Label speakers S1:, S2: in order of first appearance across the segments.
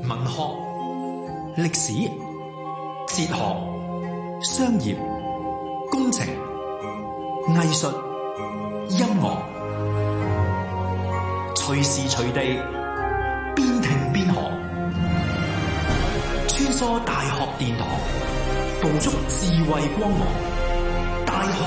S1: 文學、歷史、哲學、商業、工程、藝術、音樂，隨時隨地邊聽邊學，穿梭大學殿堂，捕捉智慧光芒。大學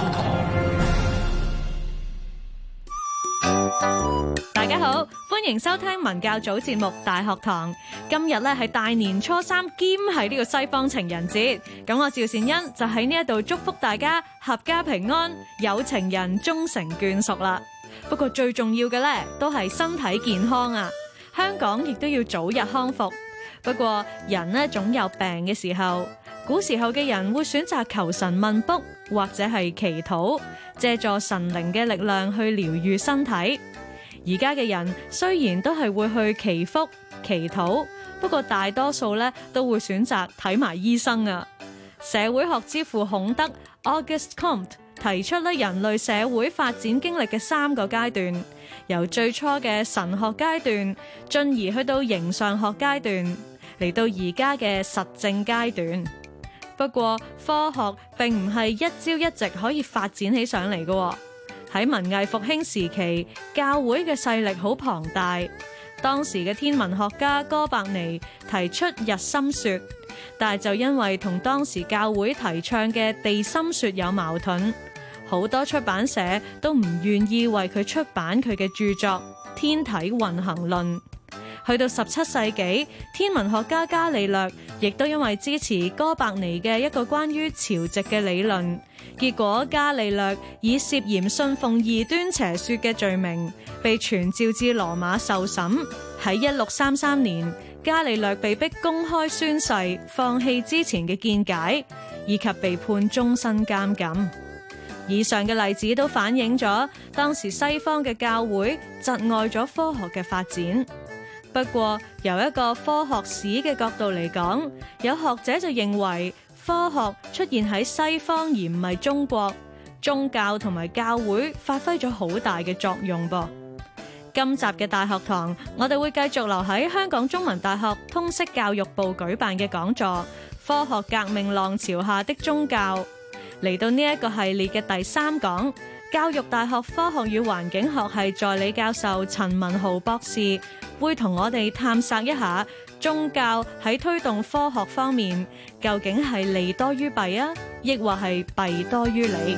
S1: 堂，
S2: 大家好，歡迎收聽文教組節目《大學堂》。今日咧係大年初三，兼係呢個西方情人節。咁我趙善恩就喺呢一度祝福大家合家平安，有情人終成眷屬啦。不過最重要嘅咧，都係身體健康啊！香港亦都要早日康復。不過人呢總有病嘅時候，古時候嘅人會選擇求神問卜，或者係祈禱，借助神靈嘅力量去療癒身體。而家嘅人雖然都係會去祈福祈禱，不過大多數咧都會選擇睇埋醫生啊。社會學之父孔德 Auguste Comte 提出咧人類社會發展經歷嘅3個階段，由最初嘅神學階段，進而去到形上學階段，嚟到而家嘅實證階段。不過科學並唔係一朝一夕可以發展起上嚟嘅。喺文藝復興時期，教會嘅勢力好龐大。當時嘅天文學家哥白尼提出日心說，但係就因為同當時教會提倡嘅地心說有矛盾，好多出版社都唔願意為佢出版佢嘅著作《天體運行論》。去到17世紀，天文學家伽利略亦都因為支持哥白尼嘅一個關於潮汐嘅理論，結果伽利略以涉嫌信奉異端邪說嘅罪名，被傳召至羅馬受審。喺1633年，伽利略被迫公開宣誓放棄之前嘅見解，以及被判終身監禁。以上嘅例子都反映咗當時西方嘅教會窒礙咗科學嘅發展。不過由一個科學史嘅角度嚟講，有學者就認為科學出現喺西方而唔係中國，宗教同埋教會發揮咗好大嘅作用噃。今集嘅大學堂，我哋會繼續留喺香港中文大學通識教育部舉辦嘅講座《科學革命浪潮下的宗教》。嚟到呢一個系列嘅第3講，教育大學科學與環境學系助理教授陳文豪博士會同我哋探索一下宗教喺推動科學方面究竟係利多於弊啊，抑或係弊多於利？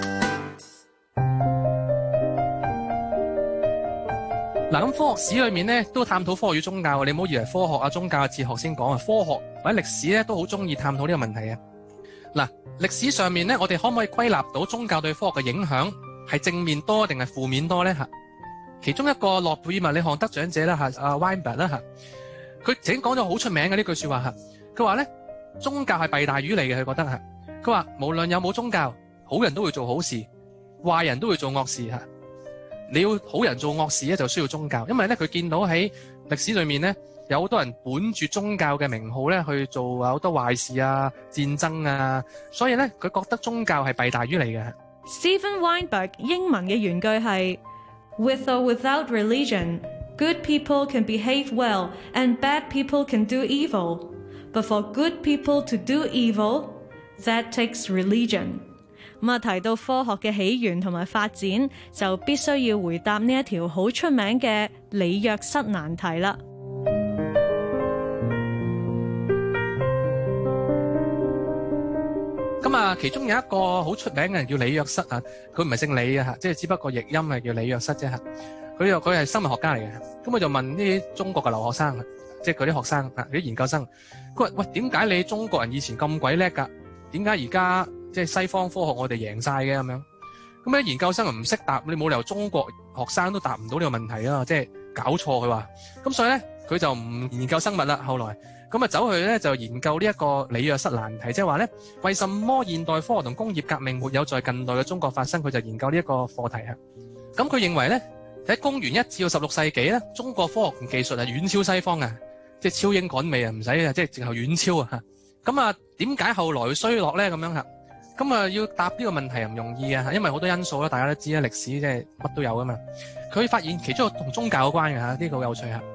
S3: 嗱，咁科學史裏面咧都探討科學與宗教，你唔好以為科學啊、宗教啊、哲學先講啊，科學或者歷史咧都好中意探討呢個問題啊。嗱，歷史上面咧，我哋可唔可以歸納到宗教對科學嘅影響係正面多定係負面多咧？吓，其中一個諾貝爾物理學得獎者啦，吓阿 Weinberg 啦，吓佢曾經講咗好出名嘅呢句說話，吓佢話咧宗教係弊大於利嘅，佢覺得吓，佢話無論有冇宗教，好人都會做好事，壞人都會做惡事吓。你要好人做惡事咧，就需要宗教，因為咧佢見到喺歷史裏面咧，有好多人本住宗教嘅名號咧去做好多壞事啊、戰爭啊，所以咧佢覺得宗教係弊大於利嘅。
S2: Stephen Weinberg 英文嘅原句係 With or without religion, good people can behave well and bad people can do evil. But for good people to do evil, that takes religion. 咁啊，提到科學嘅起源同埋發展，就必須要回答呢一條好出名嘅李約瑟難題啦。
S3: 咁啊，其中有一個好出名嘅人叫李約瑟啊，佢唔係姓李啊，即係只不過譯音係叫李約瑟啫嚇。佢係生物學家嚟嘅，咁佢就問呢啲中國嘅留學生，即係佢啲學生啊，啲研究生，佢話：喂，點解你中國人以前咁鬼叻㗎？點解而家即係西方科學我哋贏晒嘅咁樣？咁咧研究生又唔識答，你冇理由中國學生都答唔到呢個問題啊！即係搞錯佢話。咁所以咧佢就唔研究生物啦。後來咁啊走去咧就研究呢一個李約瑟難題，即係話咧為什麼現代科學同工業革命沒有在近代嘅中國發生？佢就研究呢一個課題啊。咁佢認為咧喺公元1至到16世紀咧，中國科學同技術係遠超西方啊，即係超英趕美啊，唔使啊，即係直頭遠超啊。咁啊，點解後來會衰落咧？咁樣嚇，咁啊要答呢個問題又唔容易啊，因為好多因素啦，大家都知啦，歷史即係乜都有噶嘛。佢發現其中一個同宗教有關嘅嚇，呢個好有趣嚇。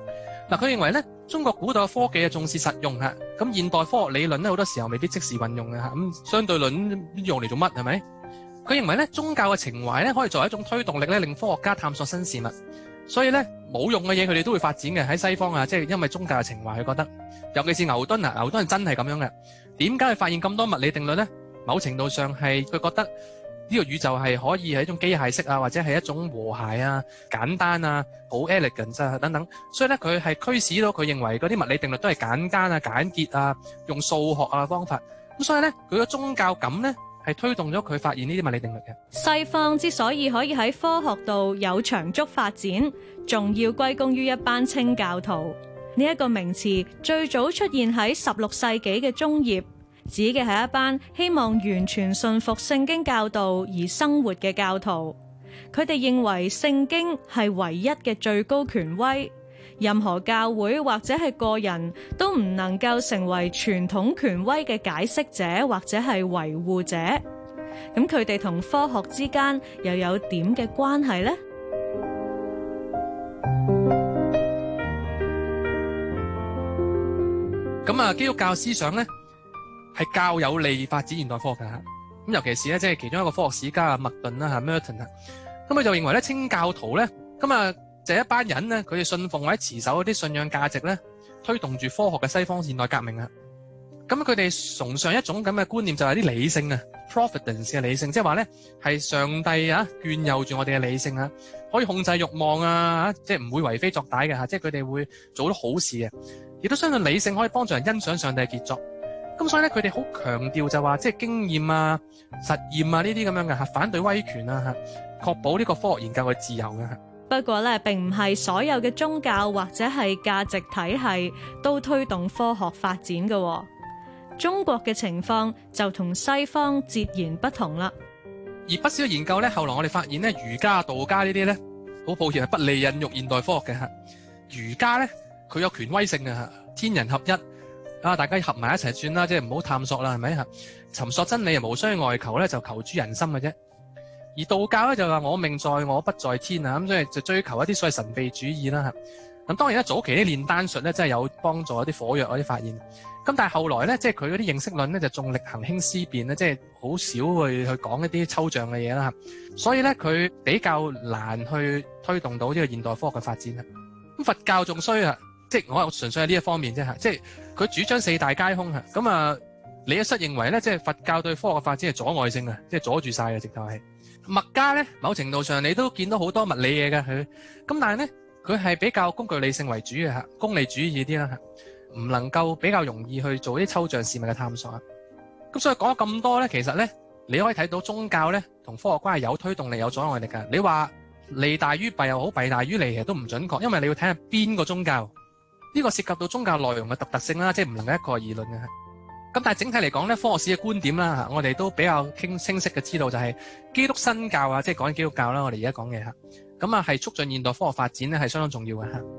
S3: 嗱，佢認為咧，中國古代嘅科技係重視實用嚇，咁現代科學理論咧好多時候未必即時運用嘅嚇，咁相對論用嚟做乜係咪？佢認為咧，宗教嘅情懷咧可以作為一種推動力咧，令科學家探索新事物。所以咧，冇用嘅嘢佢哋都會發展嘅。喺西方啊，即係因為宗教嘅情懷，佢覺得，尤其是牛頓啊，牛頓係真係咁樣嘅。點解佢發現咁多物理定律咧？某程度上係佢覺得呢個宇宙係可以係一種機械式啊，或者係一種和諧啊、簡單啊、好 elegant 啊等等。所以咧，佢係驅使到佢認為嗰啲物理定律都係簡單啊、簡潔啊，用數學啊方法。咁所以咧，佢嘅宗教感咧係推動咗佢發現呢啲物理定律嘅。
S2: 西方之所以可以喺科學度有長足發展，仲要歸功於一班清教徒。呢一個名詞最早出現喺16世紀嘅中葉，指嘅係一班希望完全信服聖經教導而生活嘅教徒。佢哋認為聖經係唯一嘅最高權威，任何教會或者係個人都唔能夠成為傳統權威嘅解釋者或者係維護者。咁佢哋同科學之間又有點嘅關係呢？
S3: 咁啊，基督教思想咧係較有利發展現代科學嘅。咁尤其是咧，即係其中一個科學史家啊，麥頓啦嚇 Merton 啊，咁佢就認為咧，清教徒咧，咁啊就係一班人咧，佢哋信奉或者持守一啲信仰價值咧，推動住科學嘅西方現代革命啊。咁佢哋崇尚一種咁嘅觀念，就係啲理性啊 ，providence 嘅理性，即係話咧係上帝啊眷佑住我哋嘅理性啊，可以控制慾望啊，即係唔會為非作歹嘅嚇，即係佢哋會做到好事嘅。亦都相信理性可以幫助人欣賞上帝嘅傑作，咁所以咧佢哋好強調就話即係經驗啊、實驗啊呢啲咁樣嘅嚇，反對威權啊嚇，確保呢個科學研究嘅自由嘅嚇。
S2: 不過咧，並唔係所有嘅宗教或者係價值體系都推動科學發展嘅。中國嘅情況就同西方截然不同啦。
S3: 而不少研究咧，後來我哋發現咧，儒家、道家呢啲咧，好抱歉係不利孕育現代科學嘅嚇。儒家咧，佢有權威性嘅嚇，天人合一啊，大家合埋一齊算啦，即係唔好探索啦，係咪嚇？尋索真理無需外求咧，就求諸人心嘅啫。而道教咧就話我命在我不在天啊，咁所以就追求一啲所謂神秘主義啦嚇。咁當然咧，早期啲煉丹術咧真係有幫助一啲火藥嗰啲發現。咁但係後來咧，即係佢嗰啲認識論咧就重力行輕思辨咧，即係好少去講一啲抽象嘅嘢啦。所以咧，佢比較難去推動到呢個現代科學嘅發展啦。咁佛教仲衰啊，即係我純粹係呢一方面啫嚇，即係佢主張四大皆空嚇。咁啊，李一瑟認為咧，即係佛教對科學嘅發展係阻礙性啊，即係阻住晒嘅直頭係。墨家咧，某程度上你都見到好多物理嘢嘅佢，咁但係咧佢係比較工具理性為主嘅嚇，功利主義啲啦嚇。唔能夠比較容易去做啲抽象事物嘅探索啊！咁所以講咗咁多咧，其實咧你可以睇到宗教咧同科學關係有推動力有阻礙力㗎。你話利大於弊又好，弊大於利其實都唔準確，因為你要睇下邊個宗教，呢個涉及到宗教內容嘅獨特性啦，即係唔能夠一概而論嘅。咁但係整體嚟講咧，科學史嘅觀點啦嚇，我哋都比較清晰嘅知道就係基督新教啊，即係講緊基督教啦，我哋而家講嘅嚇，咁啊係促進現代科學發展咧係相當重要嘅嚇。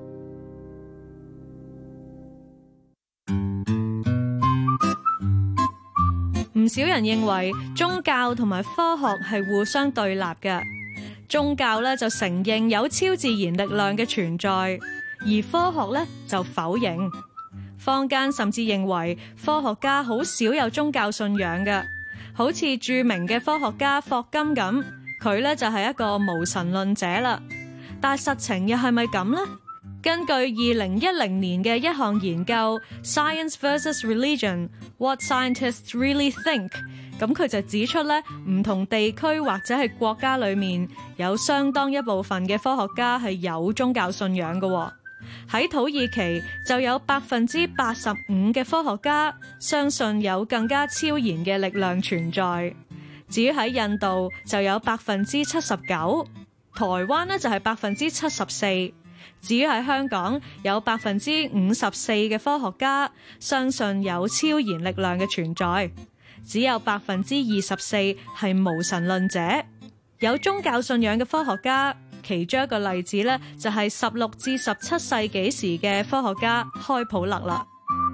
S2: 唔少人認為宗教同埋科學係互相對立嘅，宗教咧就承認有超自然力量嘅存在，而科學咧就否認。坊間甚至認為科學家好少有宗教信仰嘅，好似著名嘅科學家霍金咁，佢咧就係一個無神論者啦。但係實情又係咪咁呢？根據2010年嘅一項研究 Science vs Religion What Scientists Really Think， 咁佢就指出咧，唔同地區或者係國家裏面有相當一部分嘅科學家係有宗教信仰嘅。喺土耳其就有85%嘅科學家相信有更加超然嘅力量存在。至於喺印度就有79%，台灣呢就係74%。至於喺香港有54%嘅科學家相信有超然力量嘅存在，只有24%係無神論者。有宗教信仰嘅科學家，其中一個例子咧就係16至17世紀時嘅科學家開普勒啦。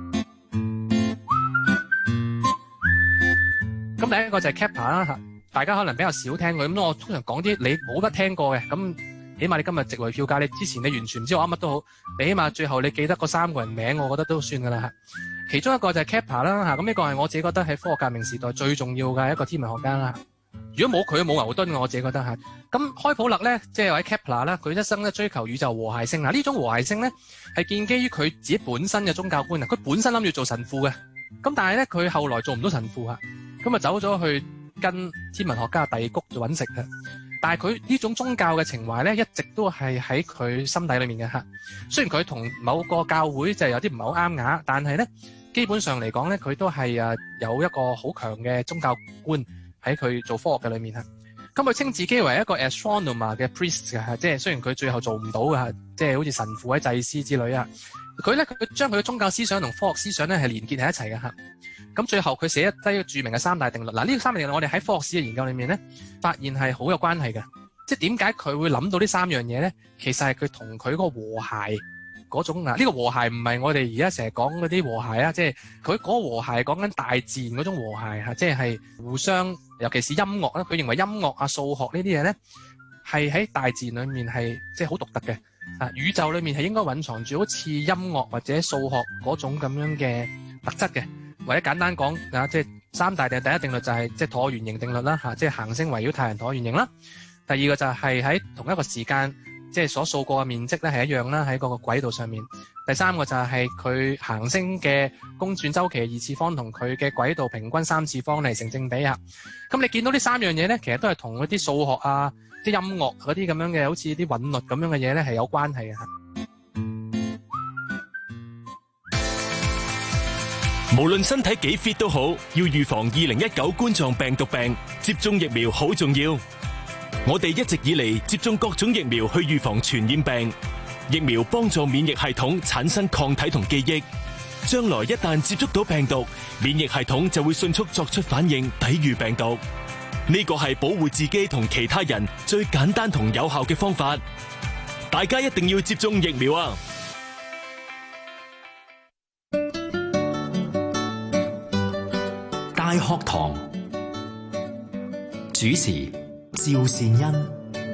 S3: 咁第一個就係 Kepler 啦，大家可能比較少聽過，咁我通常講啲你冇乜聽過嘅咁。 起碼你今日值回票價，你之前你完全唔知我噏乜都好，你起碼最後你記得嗰3個人名，我覺得都算㗎啦嚇。其中一個就係 Kepler 啦嚇，咁呢個係我自己覺得喺科學革命時代最重要嘅一個天文學家啦。如果冇佢冇牛頓，我自己覺得嚇。咁開普勒咧，即係或者 Kepler 啦，佢一生咧追求宇宙和諧性嗱，呢種和諧性咧係建基於佢自己本身嘅宗教觀啊。佢本身諗住做神父嘅，咁但係咧佢後來做唔到神父嚇，咁啊走咗去跟天文學家第谷做揾食嘅。但係佢呢種宗教嘅情懷咧，一直都係喺佢心底裏面嘅嚇。雖然佢同某個教會就有啲唔係好啱牙，但係咧基本上嚟講咧，佢都係有一個好強嘅宗教觀喺佢做科學嘅裏面嚇。咁佢稱自己為一個 astronomer 嘅 priest 嘅嚇，即係雖然佢最後做唔到嘅，即係好似神父或者祭司之類啊。佢將佢嘅宗教思想同科學思想咧係連結喺一齊嘅嚇。咁最後佢寫低著名嘅3大定律。嗱，呢個3大定律我哋喺科學史嘅研究裏面咧，發現係好有關係嘅。即係點解佢會諗到呢3樣嘢咧？其實係佢同佢個和諧嗰種呢個和諧唔係我哋而家成日講嗰啲和諧啊，即係佢嗰個和諧講緊大自然嗰種和諧嚇，即係互相，尤其是音樂啦。佢認為音樂啊、數學呢啲嘢咧係喺大自然裏面係即係好獨特嘅啊。宇宙裏面係應該蘊藏住好似音樂或者數學嗰種咁樣嘅特質嘅。或者簡單講啊，即係3大定律，第一定律就係即係橢圓形定律啦嚇，即係行星圍繞太陽橢圓形啦。第二個就係喺同一個時間，即係所掃過嘅面積咧係一樣啦，喺嗰個軌道上面。第三個就係佢行星嘅公轉周期2次方同佢嘅軌道平均3次方嚟成正比啊。咁你見到呢3樣嘢咧，其實都係同嗰啲數學啊、啲音樂嗰啲咁樣嘅，好似啲韻律咁樣嘅嘢咧係有關係嘅。
S4: 無論身體幾 fit 都好，要預防2019冠狀病毒病，接種疫苗好重要。我哋一直以嚟接種各種疫苗去預防傳染病，疫苗幫助免疫系統產生抗體同記憶，將來一旦接觸到病毒，免疫系統就會迅速作出反應，抵禦病毒。呢個係保護自己同其他人最簡單同有效嘅方法，大家一定要接種疫苗啊！
S1: 大學堂主持趙善恩。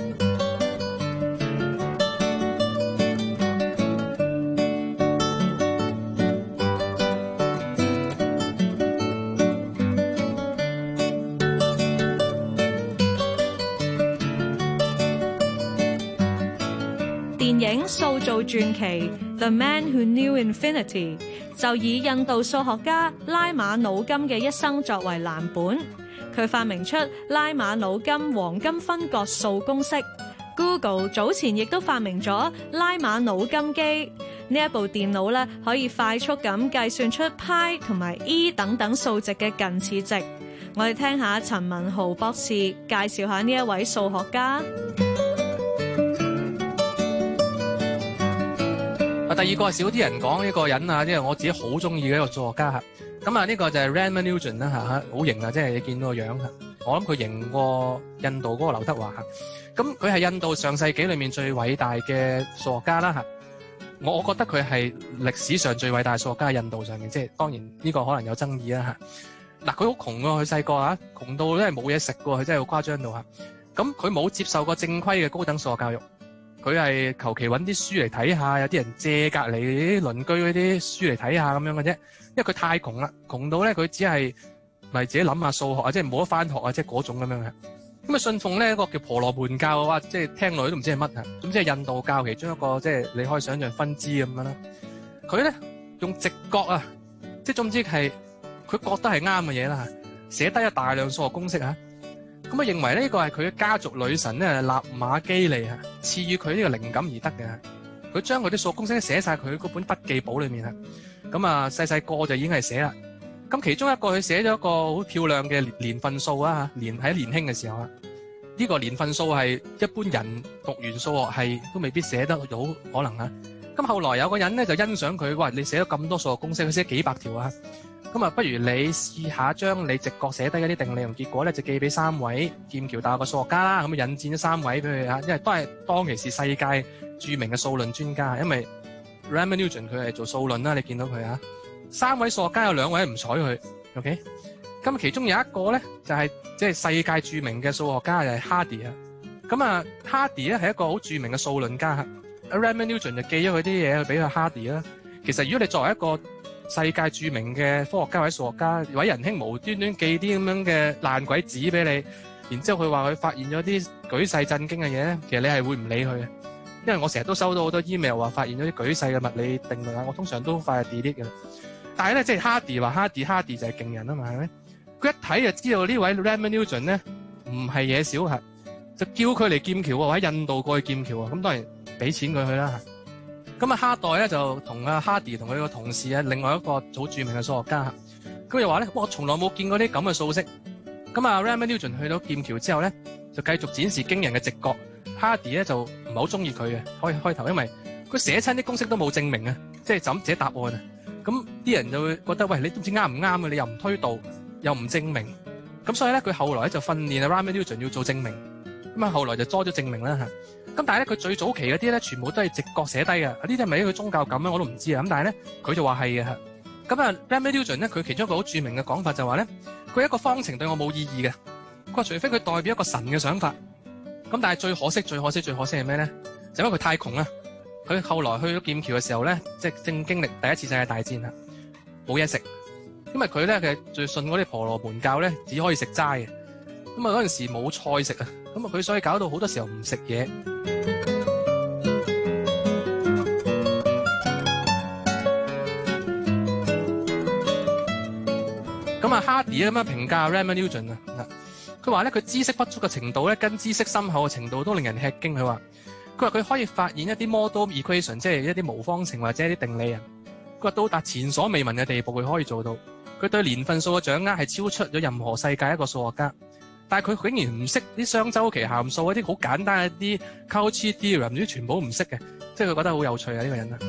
S2: 電影塑造傳奇《The Man Who Knew Infinity》就以印度數學家拉馬努金嘅一生作為藍本，佢發明出拉馬努金黃金分割數公式。Google 早前亦都發明咗拉馬努金機，呢一部電腦咧可以快速咁計算出派同埋 e 等等數值嘅近似值。我哋聽下陳文豪博士介紹下呢一位數學家。
S3: 第二個係少啲人講呢個人啊，即係我自己好中意嘅一個數學家嚇。咁啊，呢個就係 Ramanujan 啦嚇，好型啊！即係你見到個樣嚇，我諗佢型過印度嗰個劉德華嚇。咁佢係印度上世紀裏面最偉大嘅數學家啦嚇。我覺得佢係歷史上最偉大嘅數學家喺印度上面，即係當然呢個可能有爭議啦嚇。嗱，佢好窮喎，佢細個嚇，窮到真係冇嘢食喎，佢真係好誇張到嚇。咁佢冇接受過正規嘅高等數學教育。佢係求其揾啲書嚟睇下，有啲人借隔離啲鄰居嗰啲書嚟睇下咁樣嘅啫。因為佢太窮啦，窮到咧佢只係咪自己諗下數學啊，即係冇得返學啊，即係嗰種咁樣嘅。咁啊信奉咧一個叫婆羅門教啊，即係聽落都唔知係乜啊。咁即係印度教其中一個即係你可以想象分支咁樣啦。佢咧用直覺啊，即係總之係佢覺得係啱嘅嘢啦，寫低咗大量數學公式啊。咁啊，認為呢個係佢嘅家族女神咧，納瑪基利啊，賜予佢呢個靈感而得嘅。佢將佢啲數學公式寫晒佢嗰本筆記簿裏面啊。咁啊，細細個就已經係寫啦。咁其中一個佢寫咗一個好漂亮嘅年份數啊，喺年輕嘅時候啊，呢個年份數係一般人讀完數學系都未必寫得到可能啊。咁後來有個人咧就欣賞佢，哇！你寫咗咁多數學公式，佢寫幾百條啊。咁啊，不如你試下將你直覺寫低嗰啲定理同結果咧，就寄俾3位劍橋大學嘅數學家啦。咁啊，引薦咗3位俾佢啊，因為都係當其時世界著名嘅數論專家。因為 Ramanujan 佢係做數論啦，你見到佢啊。3位數學家有2位唔睬佢 ，OK。咁其中有一個咧就係即係世界著名嘅數學家就係 Hardy 啊。咁咁啊，Hardy 咧係一個好著名嘅數論家。Raymond Newton 就寄咗佢啲嘢去俾佢 Hardy 啦。其實如果你作為一個世界著名嘅科學家或者數學家，偉人兄無端端寄啲咁樣嘅爛鬼紙俾你，然之後佢話佢發現咗啲舉世震驚嘅嘢咧，其實你係會唔理佢嘅。因為我成日都收到好多 email 話發現咗啲舉世嘅物理定律啊，我通常都快 delete 嘅。但係咧，即係 Hardy 話 Hardy 就係勁人啊嘛，係咪？佢一睇就知道呢位 Raymond Newton 咧唔係嘢小核，就叫佢嚟劍橋喎，喺印度過去劍橋啊。咁當然俾錢佢去啦。咁啊，哈代咧就同阿 Hardy 同佢個同事啊，另外一個好著名嘅數學家，咁就話咧，我從來冇見過啲咁嘅數式。咁啊 Raymond Newton 去到劍橋之後咧，就繼續展示驚人嘅直覺。Hardy 咧就唔係好中意佢嘅，開頭，因為佢寫親啲公式都冇證明啊，即係就咁寫答案啊。咁啲人就會覺得，喂，你都唔知啱唔啱啊，你又唔推導，又唔證明。咁所以咧，佢後來咧就訓練啊 Raymond Newton 要做證明。咁啊，後來就多咗證明啦嚇。咁但係咧，佢最早期嗰啲咧，全部都係直覺寫低嘅。呢啲係咪佢宗教感咧？我都唔知啊。咁但係咧，佢就話係嘅嚇。咁啊 Raymond Newton 咧，佢其中一個好著名嘅講法就話咧，佢一個方程對我冇意義嘅。佢話除非佢代表一個神嘅想法。咁但係最可惜係咩咧？就因為佢太窮啦。佢後來去咗劍橋嘅時候咧，即係正經歷第一次世界大戰啦，冇嘢食。因為佢咧佢最信嗰啲婆羅門教咧，只可以食齋嘅。咁啊嗰陣時冇菜食啊，咁啊佢所以搞到好多時候唔食嘢。咁啊 Hardy 咁樣評價 Raymond Newton 啊，佢話咧佢知識不足嘅程度咧，跟知識深厚嘅程度都令人吃驚。佢話佢可以發現一啲 model equation， 即係一啲無方程或者一啲定理啊。佢話到達前所未聞嘅地步，佢可以做到。佢對年份數嘅掌握係超出咗任何世界一個數學家。但係佢竟然唔識啲雙周期函數，一啲好簡單嘅一啲 Cauchy theorem， 啲全部唔識嘅，即係佢覺得好有趣啊呢個人啊。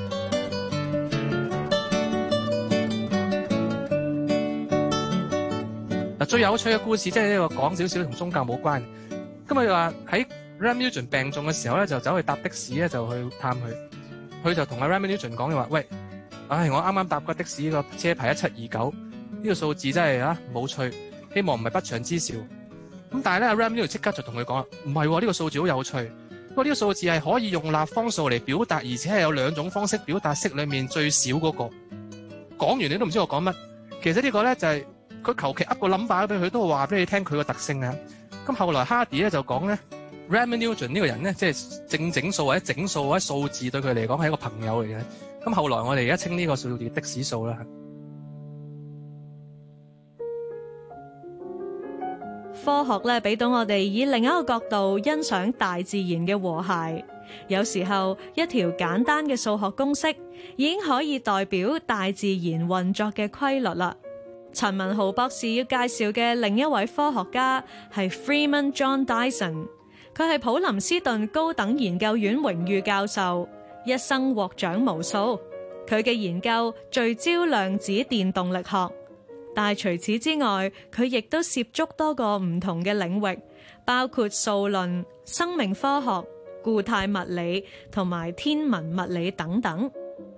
S3: 嗱，最有趣嘅故事即係呢個講少少同宗教冇關。咁佢話喺 Raymond Newton 病重嘅時候咧，就走去搭的士咧，就去探佢。佢就同阿 Raymond Newton 講嘅話：喂，我啱啱搭過的士，個車牌1729，呢個數字真係冇趣，希望唔係不祥之兆。咁但係咧，阿 Raymond Newton 即刻就同佢講：唔係喎，呢個數字好有趣。不過呢個數字係可以用立方數嚟表達，而且係有兩種方式表達式裡面最少嗰個。講完你都唔知我講乜。其實呢個咧就係佢求其噏個 number 俾佢，都話俾你聽佢個特性啊。咁後來 Hardy 咧就講咧 Raymond Newton 呢個人咧，即係整數或者整數或者數字對佢嚟講係一個朋友嚟嘅。咁後來我哋而家稱呢個數字的士數啦。
S2: 科學咧俾到我哋以另一個角度欣賞大自然嘅和諧。有時候一條簡單嘅數學公式已經可以代表大自然運作嘅規律啦。陳文豪博士要介紹嘅另一位科學家係 Freeman John Dyson， 佢係普林斯頓高等研究院榮譽教授，一生獲獎無數。佢嘅研究聚焦量子電動力學。但係除此之外，佢亦都涉足多個唔同嘅領域，包括數論、生命科學、固態物理同埋天文物理等等。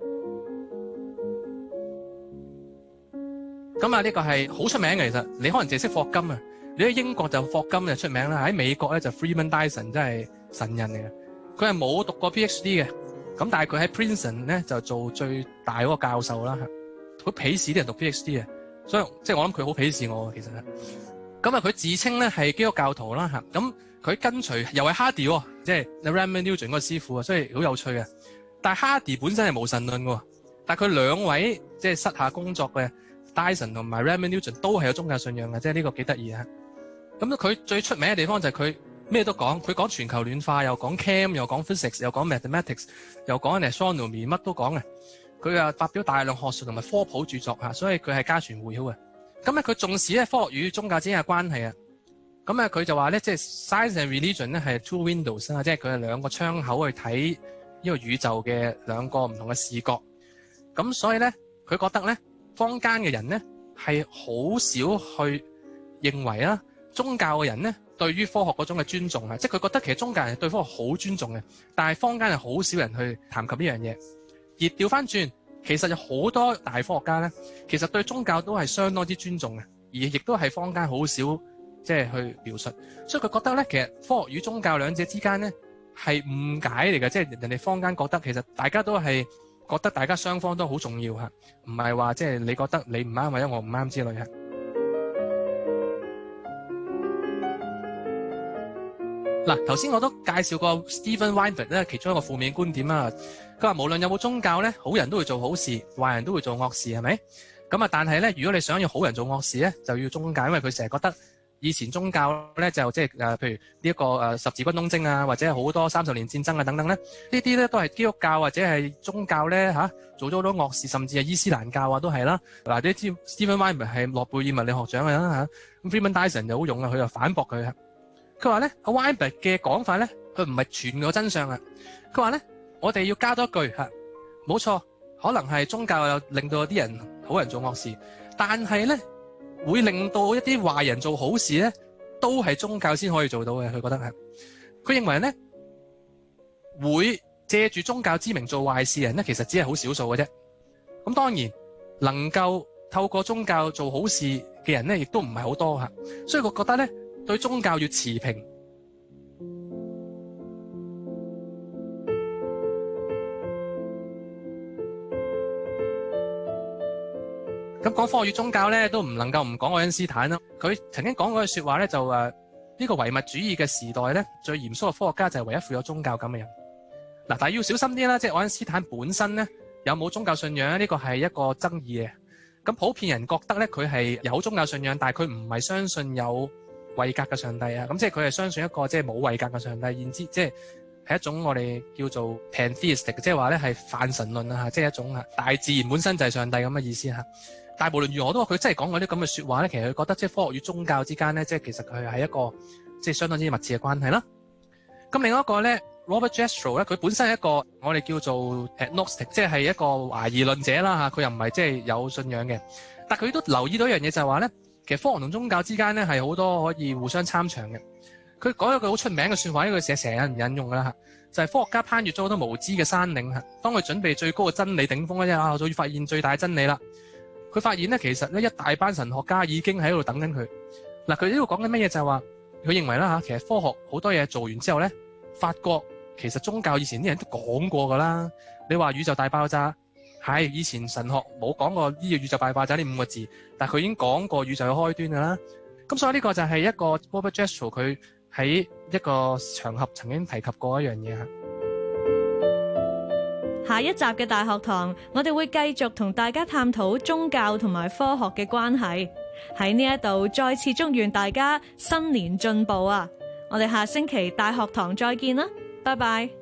S3: 咁啊，呢個係好出名嘅。其實你可能淨係識霍金啊，你喺英國就霍金就出名啦，喺美國咧就 Freeman Dyson 真係神人嚟嘅。佢係冇讀過 PhD 嘅，咁但係佢喺 Princeton 咧就做最大嗰個教授啦。佢鄙視啲人讀 PhD 嘅。所以即係我諗佢好鄙視我其實。咁啊佢自稱咧係基督教徒啦嚇，咁佢跟隨又係 Hardy 喎，即係 Raymond Newton 嗰個師傅啊，所以好有趣嘅。但係 Hardy 本身係無神論嘅，但係佢兩位即係膝下工作嘅 Dyson 同埋 Raymond Newton 都係有宗教信仰嘅，即係呢個幾得意啊。咁佢最出名嘅地方就係佢咩都講，佢講全球暖化，又講 Chem， 又講 Physics， 又講 Mathematics， 又講 Astronomy， 乜都講嘅。佢啊發表大量學術同埋科普著作嚇，所以佢係家傳戶曉嘅。咁咧佢重視咧科學與宗教之間嘅關係啊。咁啊佢就話咧，即係 Science and Religion 咧係 two windows 啊，即係佢係兩個窗口去睇呢個宇宙嘅兩個唔同嘅視角。咁所以咧佢覺得咧坊間嘅人咧係好少去認為啦，宗教嘅人咧對於科學嗰種嘅尊重啊，即係佢覺得其實宗教人係對科學好尊重嘅，但係坊間係好少人去談及呢樣嘢。而調翻轉，其實有好多大科學家咧，其實對宗教都係相當之尊重嘅，而亦都係坊間好少即係去描述。所以佢覺得咧，其實科學與宗教兩者之間咧係誤解嚟嘅，即係人哋坊間覺得其實大家都係覺得大家雙方都好重要嚇，唔係話即係你覺得你唔啱或者我唔啱之類嚇。嗱，頭先我都介紹過 Steven Weinberg 咧，其中一個負面觀點啊。佢話無論有冇宗教咧，好人都會做好事，壞人都會做惡事，係咪？咁啊，但係咧，如果你想要好人做惡事咧，就要宗教，因為佢成日覺得以前宗教咧就即係譬如呢一個十字軍東征啊，或者係好多30年戰爭啊等等咧，呢啲咧都係基督教或者係宗教咧做咗好多惡事，甚至係伊斯蘭教啊都係啦。嗱，你知 Steven Weinberg 係諾貝爾物理學獎嘅啦嚇，咁 Freeman Dyson 就好勇啊，佢就反駁佢。佢話咧，阿 Weinberg 嘅講法咧，佢唔係全個真相啊。佢話咧，我哋要加多一句嚇，冇錯，可能係宗教又令到有啲人好人做惡事，但係咧會令到一啲壞人做好事咧，都係宗教先可以做到嘅。佢覺得係，佢認為咧會借住宗教之名做壞事嘅人咧，其實只係好少數嘅啫。咁當然能夠透過宗教做好事嘅人咧，亦都唔係好多嚇。所以佢覺得咧，對宗教要持平。咁講科學與宗教咧，都唔能夠唔講愛因斯坦啦。佢曾經講過句説話咧，就呢個唯物主義嘅時代咧，最嚴肅嘅科學家就係唯一富有宗教感嘅人。嗱，但係要小心啲啦，即係愛因斯坦本身咧有冇宗教信仰咧？呢個係一個爭議嘅。咁普遍人覺得咧，佢係有宗教信仰，但係佢唔係相信有位格嘅上帝啊。咁即係佢係相信一個即係冇位格嘅上帝，然之即係一種我哋叫做 pantheistic， 即係話咧係泛神論啊，即係一種大自然本身就係上帝咁嘅意思嚇。但係無論如何都話佢真係講過啲咁嘅説話咧，其實佢覺得即係科學與宗教之間咧，即係其實佢係一個即係相當之密切嘅關係啦。咁另外一個咧 Robert Jastrow 咧，佢本身係一個我哋叫做 agnostic， 即係一個懷疑論者啦嚇，佢又唔係即係有信仰嘅。但佢都留意到一樣嘢就係話咧，其實科學同宗教之間咧係好多可以互相參詳嘅。佢講咗句好出名嘅説話，呢句成日有人引用㗎啦嚇，就係科學家攀越咗好多無知嘅山嶺嚇，當佢準備最高嘅真理頂峰咧，就要發現最大真理啦。佢發現咧，其實咧一大班神學家已經喺度等緊佢。嗱，佢呢度講緊乜嘢就係話，佢認為啦嚇，其實科學好多嘢做完之後咧，發覺其實宗教以前啲人都講過㗎啦。你話宇宙大爆炸係以前神學冇講過呢個宇宙大爆炸呢5個字，但係佢已經講過宇宙嘅開端㗎啦。咁所以呢個就係一個 Robert Jastrow 佢喺一個場合曾經提及過一樣嘢嚇。
S2: 下一集嘅大學堂，我哋會繼續同大家探討宗教同埋科學嘅關係。喺呢一度再次祝願大家新年進步啊！我哋下星期大學堂再見啦，拜拜。